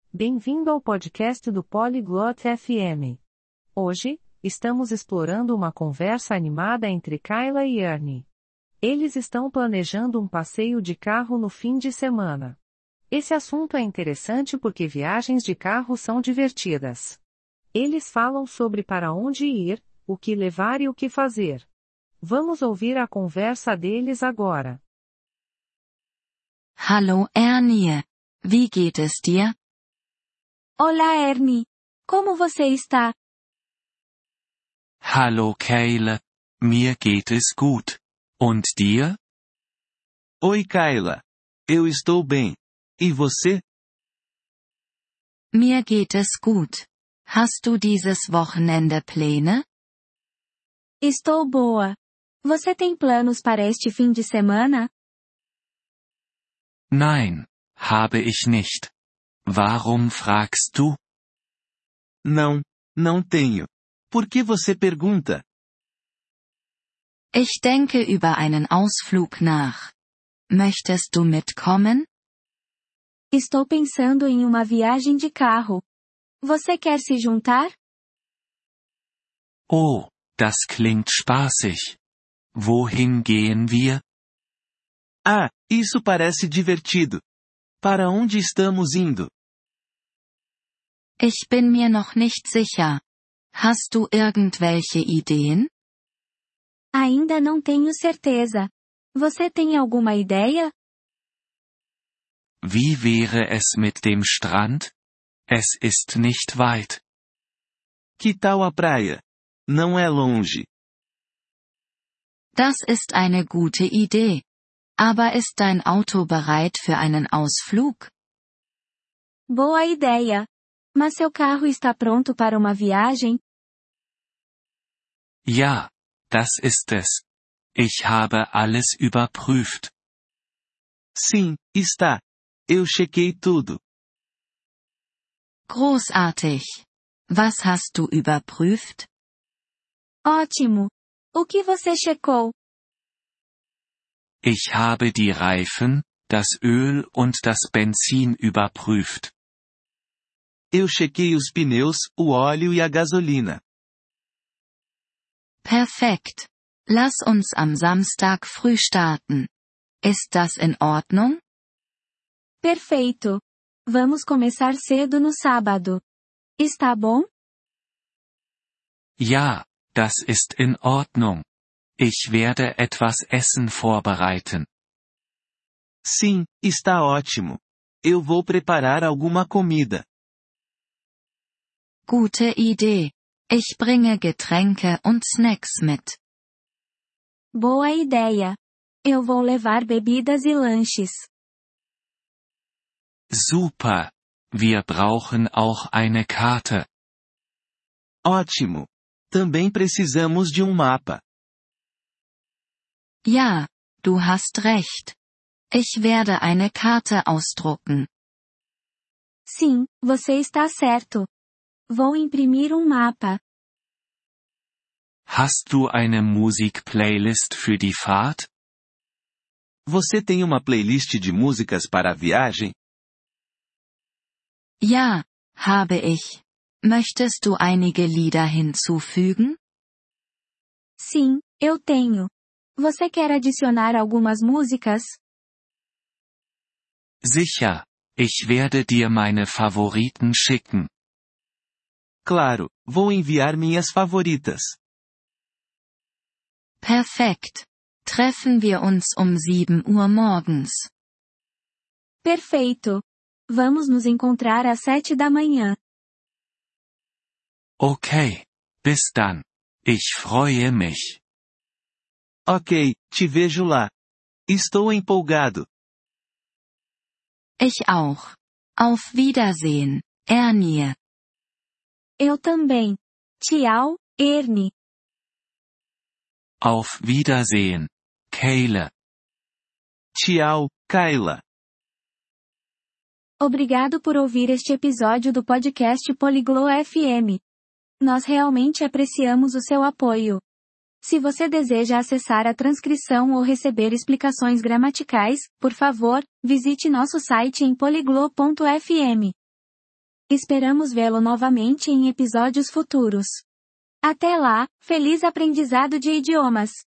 Bem-vindo ao podcast do Polyglot FM. Hoje, estamos explorando uma conversa animada entre Kayla e Ernie. Eles estão planejando um passeio de carro no fim de semana. Esse assunto é interessante porque viagens de carro são divertidas. Eles falam sobre para onde ir, o que levar e o que fazer. Vamos ouvir a conversa deles agora. Hallo Ernie. Wie geht es dir? Olá Ernie. Como você está? Hallo Kayla. Mir geht es gut. Und dir? Oi Kayla. Eu estou bem. E você? Mir geht es gut. Hast du dieses Wochenende Pläne? Estou boa. Você tem planos para este fim de semana? Nein, habe ich nicht. Warum fragst du? Não, não tenho. Por que você pergunta? Ich denke über einen Ausflug nach. Möchtest du mitkommen? Estou pensando em uma viagem de carro. Você quer se juntar? Oh, das klingt spaßig. Wohin gehen wir? Ah, isso parece divertido. Para onde estamos indo? Ich bin mir noch nicht sicher. Hast du irgendwelche Ideen? Ainda não tenho certeza. Você tem alguma ideia? Wie wäre es mit dem Strand? Es ist nicht weit. Que tal a praia? Não é longe. Das ist eine gute Idee. Aber ist dein Auto bereit für einen Ausflug? Boa ideia. Mas seu carro está pronto para uma viagem? Ja, das ist es. Ich habe alles überprüft. Sim, está. Eu chequei tudo. Großartig. Was hast du überprüft? Ótimo. O que você checou? Ich habe die Reifen, das Öl und das Benzin überprüft. Eu chequei os pneus, o óleo e a gasolina. Perfekt. Lass uns am Samstag früh starten. Ist das in Ordnung? Perfeito. Vamos começar cedo no sábado. Está bom? Ja, das ist in Ordnung. Ich werde etwas Essen vorbereiten. Sim, está ótimo. Eu vou preparar alguma comida. Gute Idee. Ich bringe Getränke und Snacks mit. Boa ideia. Eu vou levar bebidas e lanches. Super. Wir brauchen auch eine Karte. Ótimo. Também precisamos de um mapa. Ja, du hast recht. Ich werde eine Karte ausdrucken. Sim, você está certo. Vou imprimir um mapa. Hast du eine Musikplaylist für die Fahrt? Você tem uma playlist de músicas para a viagem? Ja, habe ich. Möchtest du einige Lieder hinzufügen? Sim, eu tenho. Você quer adicionar algumas músicas? Sicher. Ich werde dir meine Favoriten schicken. Claro, vou enviar minhas favoritas. Perfekt. Treffen wir uns um 7 Uhr morgens. Perfeito. Vamos nos encontrar às 7 da manhã. Okay. Bis dann. Ich freue mich. Ok, te vejo lá. Estou empolgado. Ich auch. Auf Wiedersehen, Ernie. Eu também. Tchau, Ernie. Auf Wiedersehen, Kayla. Tchau, Kayla. Obrigado por ouvir este episódio do podcast Polyglot FM. Nós realmente apreciamos o seu apoio. Se você deseja acessar a transcrição ou receber explicações gramaticais, por favor, visite nosso site em polyglot.fm. Esperamos vê-lo novamente em episódios futuros. Até lá, feliz aprendizado de idiomas!